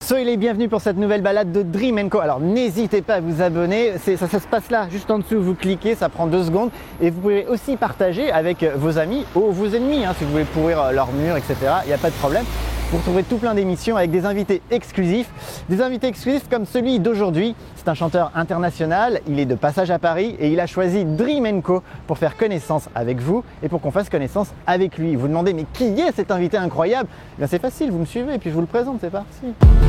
Soyez les bienvenus pour cette nouvelle balade de Dream & Co. Alors n'hésitez pas à vous abonner, ça se passe là, juste en dessous, vous cliquez, ça prend 2 secondes. Et vous pouvez aussi partager avec vos amis ou vos ennemis, si vous voulez pourrir leur mur, etc. Il n'y a pas de problème. Vous retrouverez tout plein d'émissions avec des invités exclusifs. Des invités exclusifs comme celui d'aujourd'hui. C'est un chanteur international, il est de passage à Paris et il a choisi Dream & Co pour faire connaissance avec vous et pour qu'on fasse connaissance avec lui. Vous demandez mais qui est cet invité incroyable? Eh bien c'est facile, vous me suivez et puis je vous le présente, c'est parti.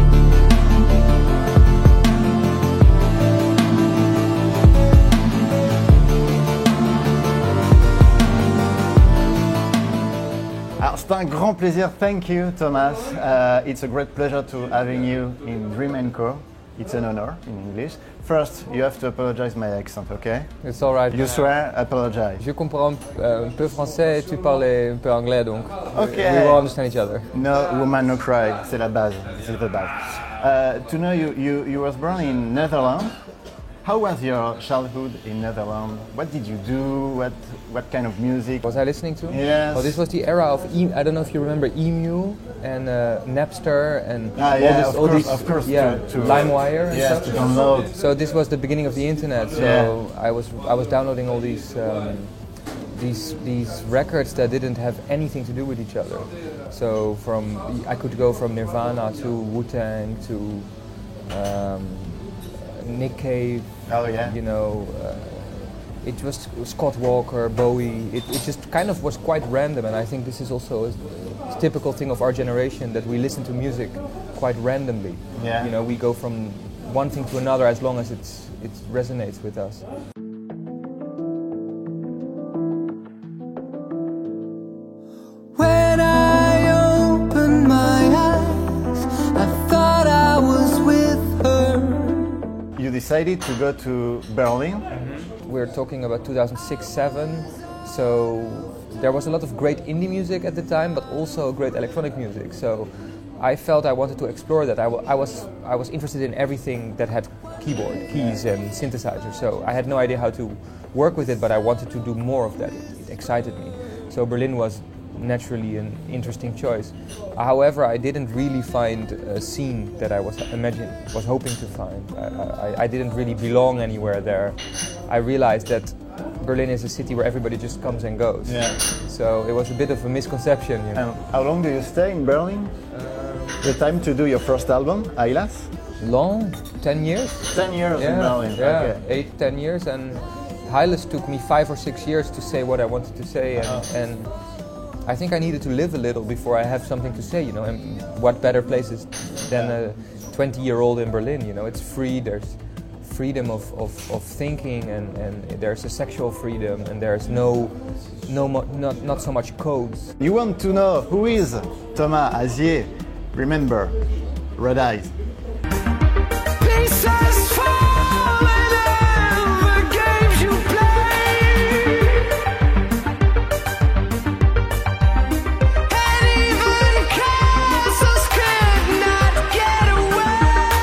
Alors, c'est un grand plaisir. Thank you, Thomas. It's a great pleasure to having you in Dream & Co. It's an honor in English. First, you have to apologize my accent, okay? It's all right. You swear, apologize. Je comprends un peu français et tu parles un peu anglais, donc Okay. we will understand each other. No woman, no cry. C'est la base. C'est the base. To know you was born in Netherlands. How was your childhood in Netherlands? What did you do? What kind of music? Was I listening to? Yes. Oh, this was the era of I don't know if you remember Emu and Napster and Yeah, all these of course. yeah, To LimeWire and yes, stuff. to download. So this was the beginning of the internet. So Yeah. I was downloading all these records that didn't have anything to do with each other. So I could go from Nirvana to Wu-Tang to Nick Cave. Oh yeah. You know, it was Scott Walker, Bowie. It just kind of was quite random, and I think this is also a typical thing of our generation that we listen to music quite randomly. Yeah. You know, we go from one thing to another as long as it resonates with us. When I opened my eyes, I thought I was with her. You decided to go to Berlin. We're talking about 2006-07, so there was a lot of great indie music at the time, but also great electronic music. So I felt I wanted to explore that. I was interested in everything that had keyboard, keys and synthesizers. So I had no idea how to work with it, but I wanted to do more of that. It excited me. So Berlin was naturally an interesting choice. However, I didn't really find a scene that I was hoping to find. I didn't really belong anywhere there. I realized that Berlin is a city where everybody just comes and goes. Yeah. So it was a bit of a misconception. You know. And how long do you stay in Berlin? The time to do your first album, Ailas? Long, 10 years. 10 years in Berlin. Yeah, Okay. 8-10 years, and Hylas took me 5 or 6 years to say what I wanted to say, and I think I needed to live a little before I have something to say, you know, and what better places than a 20-year-old in Berlin, you know, it's free, there's freedom of thinking, and there's a sexual freedom, and there's not so much codes. You want to know who is Thomas Azier? Remember, Red Eyes. Pieces fall in every games you play, and even castles could not get away.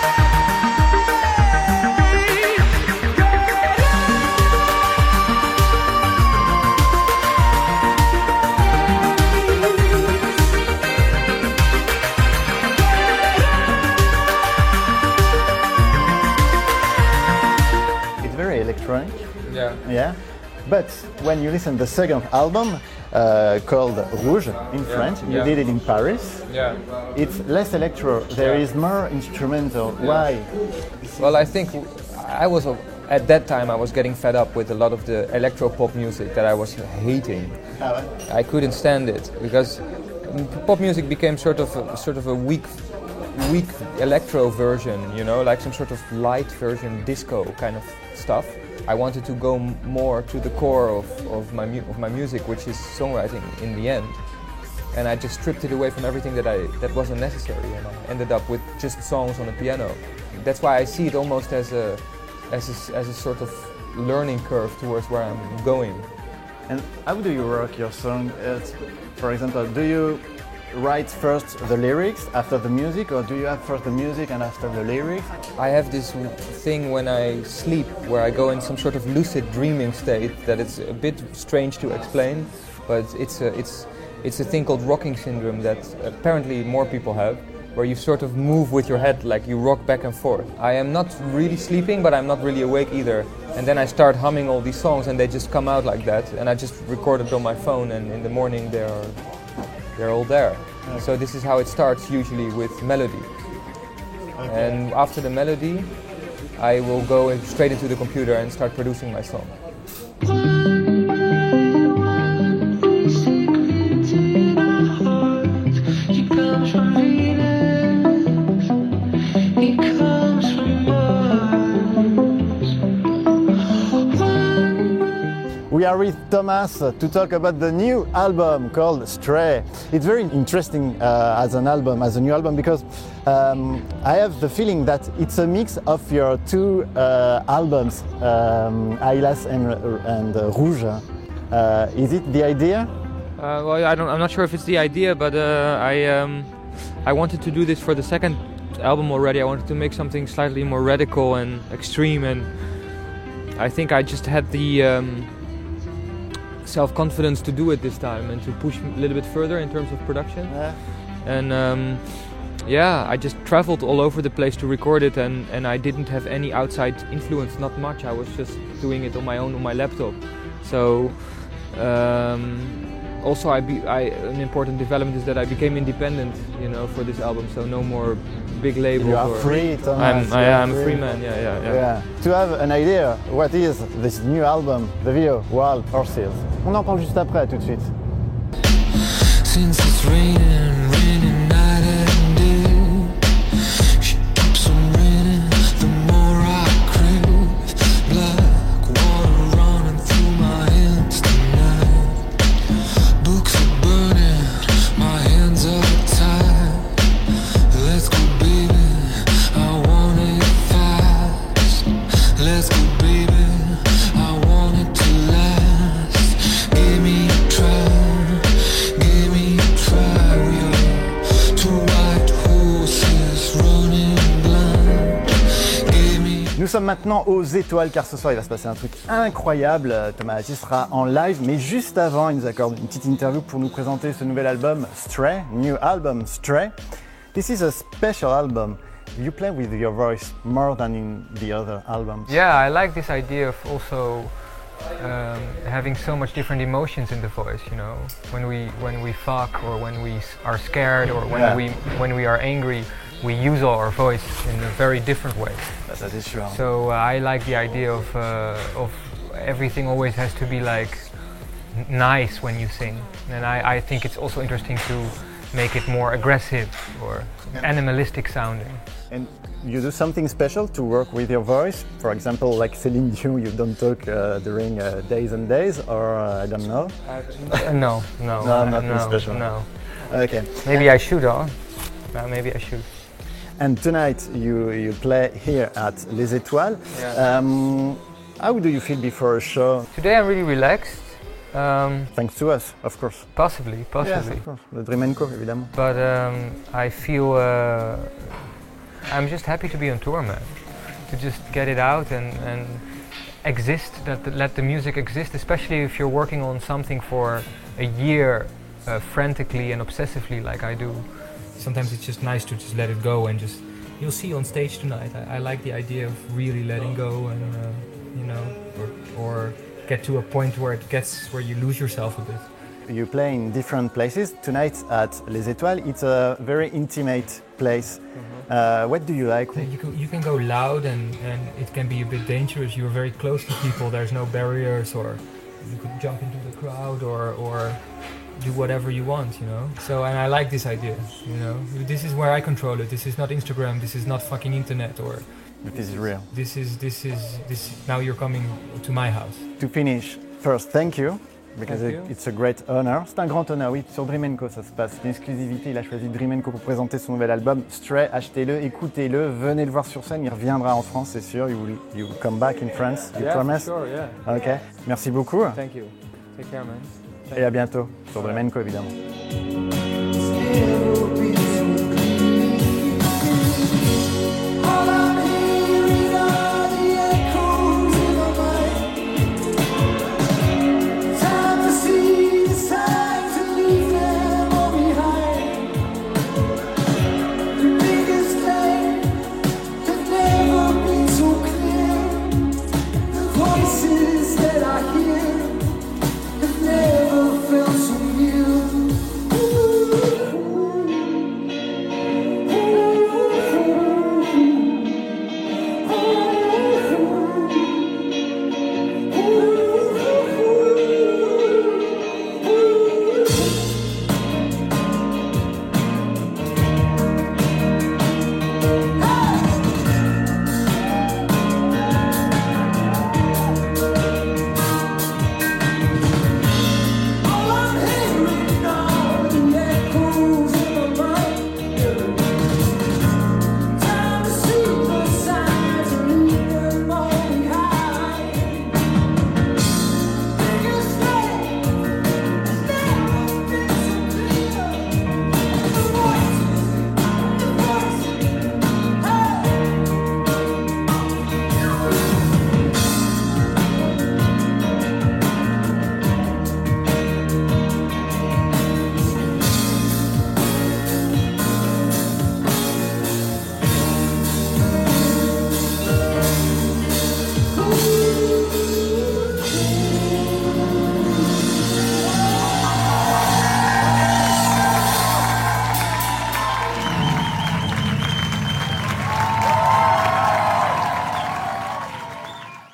It's very electronic. Yeah. Yeah. But when you listen to the second album called Rouge in French, you Yeah. did it in Paris. Yeah. It's less electro. There is more instrumental. Why? Well, I think at that time I was getting fed up with a lot of the electro pop music that I was hating. I couldn't stand it because pop music became sort of a weak electro version, you know, like some sort of light version disco kind of stuff. I wanted to go more to the core of my music, which is songwriting in the end. And I just stripped it away from everything that wasn't necessary, and I ended up with just songs on a piano. That's why I see it almost as a sort of learning curve towards where I'm going. And how do you work your song? For example, do you write first the lyrics after the music, or do you have first the music and after the lyrics? I have this thing when I sleep where I go in some sort of lucid dreaming state that it's a bit strange to explain, but it's a thing called rocking syndrome that apparently more people have. where you sort of move with your head, like you rock back and forth. I am not really sleeping, but I'm not really awake either. And then I start humming all these songs and they just come out like that. And I just record it on my phone, and in the morning they're all there. Okay. So this is how it starts, usually with melody. Okay. And after the melody, I will go straight into the computer and start producing my song. We are with Thomas to talk about the new album called Stray. It's very interesting as a new album, because I have the feeling that it's a mix of your two albums, Aylas and Rouge. Is it the idea? Well, I'm not sure if it's the idea, but I wanted to do this for the second album already. I wanted to make something slightly more radical and extreme, and I think I just had the self-confidence to do it this time and to push a little bit further in terms of production. Yeah. And I just traveled all over the place to record it, and I didn't have any outside influence, not much. I was just doing it on my own on my laptop. So also an important development is that I became independent, for this album. So no more big labels. You are free, Thomas. I'm a free man. Yeah. To have an idea, what is this new album, the video, Wild Horses? On en parle juste après, tout de suite. Since it's raining night and day, she keeps on raining. The more I crave, black water running through my hands tonight. Books are burning, my hands are tied. Let's go, baby, I want it fast. Let's go, baby, I want it to last. Give me a try, give me a try. We are two white horses running blind. Give me. Nous sommes maintenant aux étoiles, car ce soir il va se passer un truc incroyable. Thomas Atis sera en live, mais juste avant il nous accorde une petite interview pour nous présenter ce nouvel album Stray, new album Stray. This is a special album. You play with your voice more than in the other albums. Yeah, I like this idea of also having so much different emotions in the voice. When we fuck, or when we are scared, or when we are angry, we use our voice in a very different way. That is true. So I like the idea of everything always has to be like nice when you sing, and I think it's also interesting to make it more aggressive or animalistic sounding. And you do something special to work with your voice? For example, like Céline Dion, you don't talk during days and days, or I don't know? No, nothing special. No. Okay. Maybe I should, maybe I should. And tonight you play here at Les Étoiles. Yeah. How do you feel before a show? Today I'm really relaxed. Thanks to us, of course. Possibly. Yes, of course. The Dream & Co, évidemment. But I feel I'm just happy to be on tour, man. To just get it out and exist, let the music exist, especially if you're working on something for a year frantically and obsessively like I do. Sometimes it's just nice to just let it go and just, you'll see on stage tonight. I like the idea of really letting go and, or get to a point where you lose yourself a bit. You play in different places. Tonight at Les Étoiles, it's a very intimate place. Mm-hmm. What do you like? You can go loud and it can be a bit dangerous. You're very close to people, there's no barriers, or you could jump into the crowd or do whatever you want, So, and I like this idea, This is where I control it. This is not Instagram, this is not fucking internet, or... This is real. This now you're coming to my house. To finish, first, thank you. Because it's a great honor. C'est un grand honneur, oui. Sur Dream & Co, ça se passe. Une exclusivité. Il a choisi Dream & Co pour présenter son nouvel album Stray. Achetez-le, écoutez-le, venez le voir sur scène. Il reviendra en France, c'est sûr. You will come back in France. You promise? Sure, yeah. Ok. Merci beaucoup. Thank you. Take care, man. Et à bientôt sur Dream & Co, évidemment.